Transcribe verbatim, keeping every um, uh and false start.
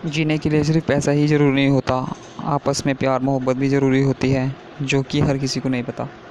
जीने के लिए सिर्फ पैसा ही ज़रूरी नहीं होता, आपस में प्यार मोहब्बत भी ज़रूरी होती है, जो कि हर किसी को नहीं पता।